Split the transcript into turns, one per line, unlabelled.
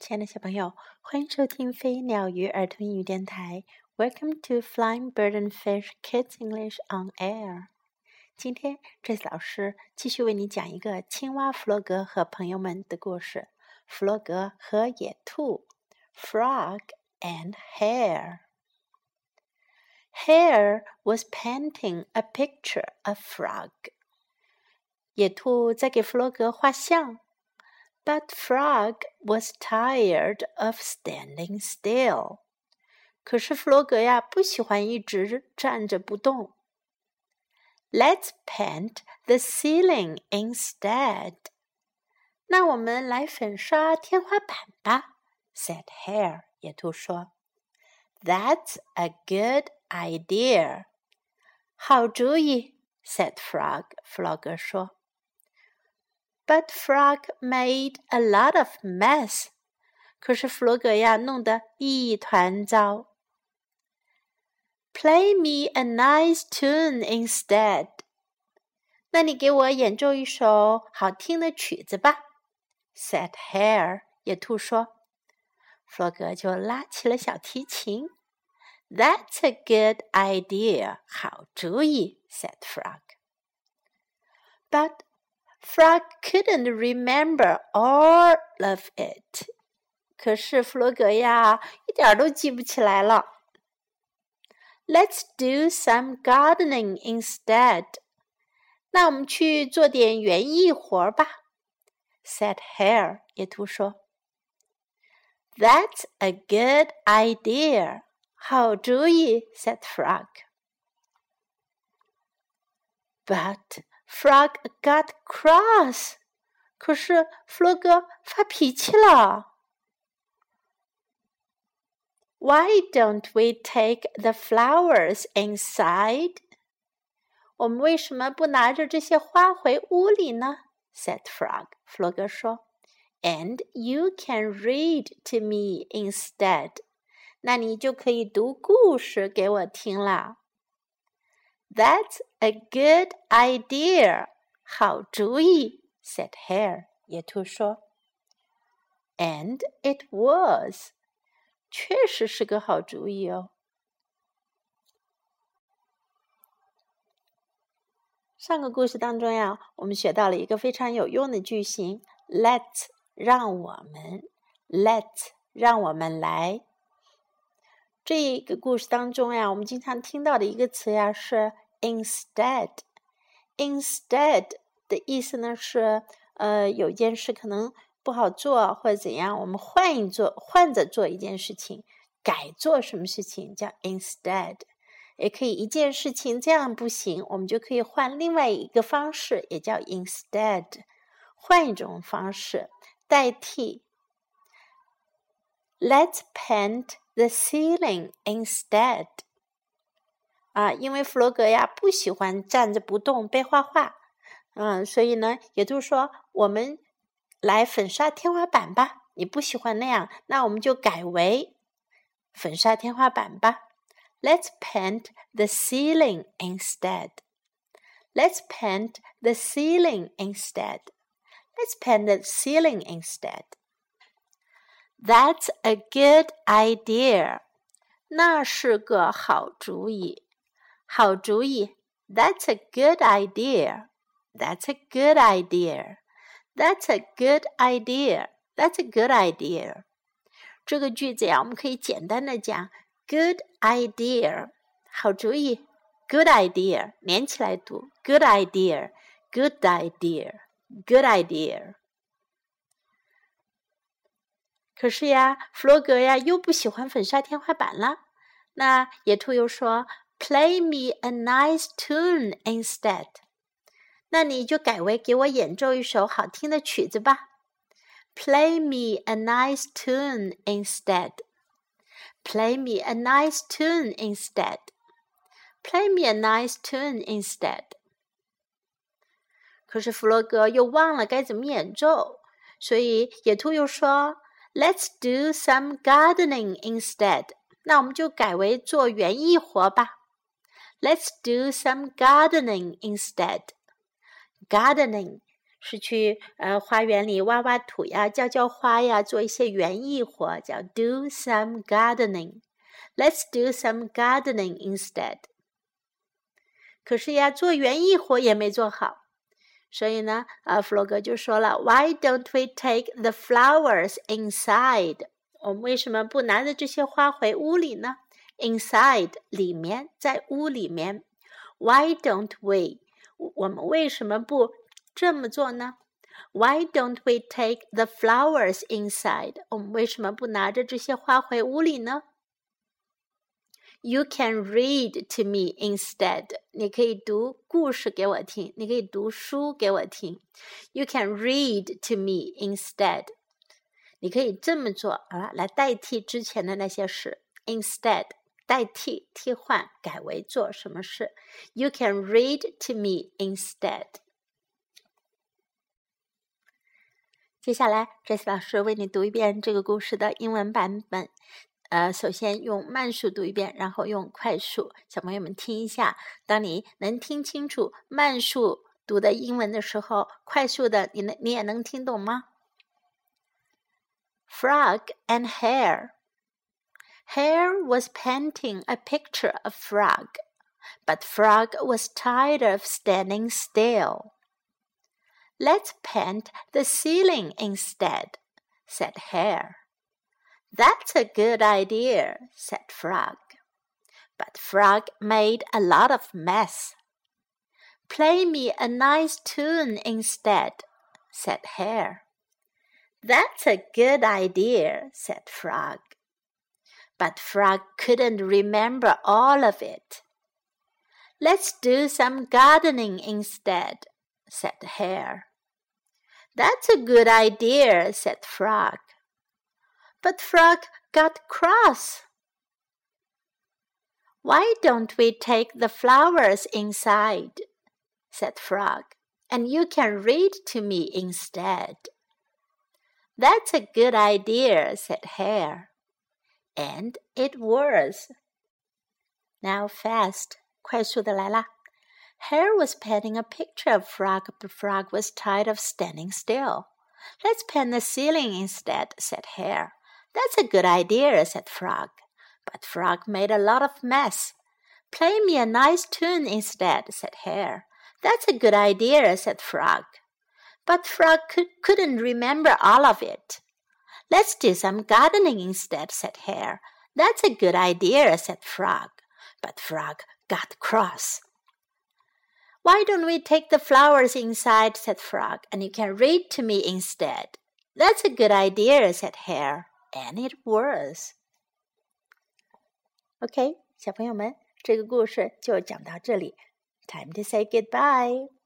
亲爱的小朋友，欢迎收听飞鸟鱼儿童英语电台。Welcome to Flying Bird and Fish Kids English on Air。今天Tracy老师继续为你讲一个青蛙弗洛格和朋友们的故事。弗洛格和野兔 ，Frog and Hare。Hare was painting a picture of Frog。野兔在给弗洛格画像。But Frog was tired of standing still. 可是弗洛格呀，不喜欢一直站着不动。Let's paint the ceiling instead. 那我们来粉刷天花板吧 said Hare. 野兔说。That's a good idea. 好主意 said Frog. 弗洛格说。But Frog made a lot of mess. 可是弗洛格呀，弄得一团糟。Play me a nice tune instead. 那你给我演奏一首好听的曲子吧 said Hare. 野兔说。弗洛格就拉起了小提琴。That's a good idea. 好主意 said Frog. But Frog couldn't remember all of it. 可是弗洛格呀，一点都记不起来了。Let's do some gardening instead. 那我们去做点园艺活吧 said Hare. 野兔说。That's a good idea. 好主意 said Frog. But Frog got cross. 可是弗洛格发脾气了。Why don't we take the flowers inside? 我们为什么不拿着这些花回屋里呢 said Frog. 弗洛格说。And you can read to me instead. 那你就可以读故事给我听了。That's a good idea. 好主意 said Hare. 野兔说。And it was. 确实是个好主意哦。上个故事当中呀，我们学到了一个非常有用的句型 Let's 让我们 Let's 让我们来。这个故事当中呀，我们经常听到的一个词呀是 instead. Instead 的意思呢是有一件事可能不好做或者怎样，我们换着做一件事情，改做什么事情叫 instead。 也可以一件事情这样不行，我们就可以换另外一个方式，也叫 instead， 换一种方式代替。Let's paint the ceiling instead. 因为弗洛格呀不喜欢站着不动被画画，所以呢，野兔说我们来粉刷天花板吧。你不喜欢那样，那我们就改为粉刷天花板吧。Let's paint the ceiling instead. Let's paint the ceiling instead. Let's paint the ceiling instead. That's a good idea. 那是个好主意。好主意 That's a good idea. That's a good idea. That's a good idea. That's a good idea. 这个句子呀，我们可以简单的讲 good idea. 好主意 good idea. 连起来读 good idea. Good idea. Good idea. 可是呀，弗洛格呀又不喜欢粉刷天花板了。那野兔又说 Play me a nice tune instead. 那你就改为给我演奏一首好听的曲子吧。Play me a nice tune instead. Play me a nice tune instead. Play me a nice tune instead. 可是弗洛格又忘了该怎么演奏，所以野兔又说Let's do some gardening instead. 那我们就改为做园艺活吧。Let's do some gardening instead. Gardening 是去花园里挖挖土呀，浇浇花呀，做一些园艺活，叫 do some gardening. Let's do some gardening instead. 可是呀，做园艺活也没做好。所以呢，弗洛格就说了 Why don't we take the flowers inside? 我们为什么不拿着这些花回屋里呢？ Inside 里面，在屋里面。Why don't we? 我们为什么不这么做呢？ Why don't we take the flowers inside? 我们为什么不拿着这些花回屋里呢？You can read to me instead. 你可以读故事给我听，你可以读书给我听。You can read to me instead. 你可以这么做来代替之前的那些事。Instead, 代替、替换、改为做什么事。You can read to me instead. 接下来 Jessie 老师为你读一遍这个故事的英文版本。首先用慢速读一遍，然后用快速。小朋友们听一下，当你能听清楚慢速读的英文的时候，快速的你也能听懂吗？ Frog and Hare. Hare was painting a picture of Frog, but Frog was tired of standing still. Let's paint the ceiling instead, said Hare.That's a good idea, said Frog. But Frog made a lot of mess. Play me a nice tune instead, said Hare. That's a good idea, said Frog. But Frog couldn't remember all of it. Let's do some gardening instead, said Hare. That's a good idea, said Frog.But Frog got cross. Why don't we take the flowers inside, said Frog, and you can read to me instead. That's a good idea, said Hare. And it was. Now fast, 快速的来啦。Hare was painting a picture of Frog, but Frog was tired of standing still. Let's paint the ceiling instead, said Hare.That's a good idea, said Frog. But Frog made a lot of mess. Play me a nice tune instead, said Hare. That's a good idea, said Frog. But Frog couldn't remember all of it. Let's do some gardening instead, said Hare. That's a good idea, said Frog. But Frog got cross. Why don't we take the flowers inside, said Frog, and you can read to me instead. That's a good idea, said Hare.And it was. OK, 小朋友们，这个故事就讲到这里。Time to say goodbye.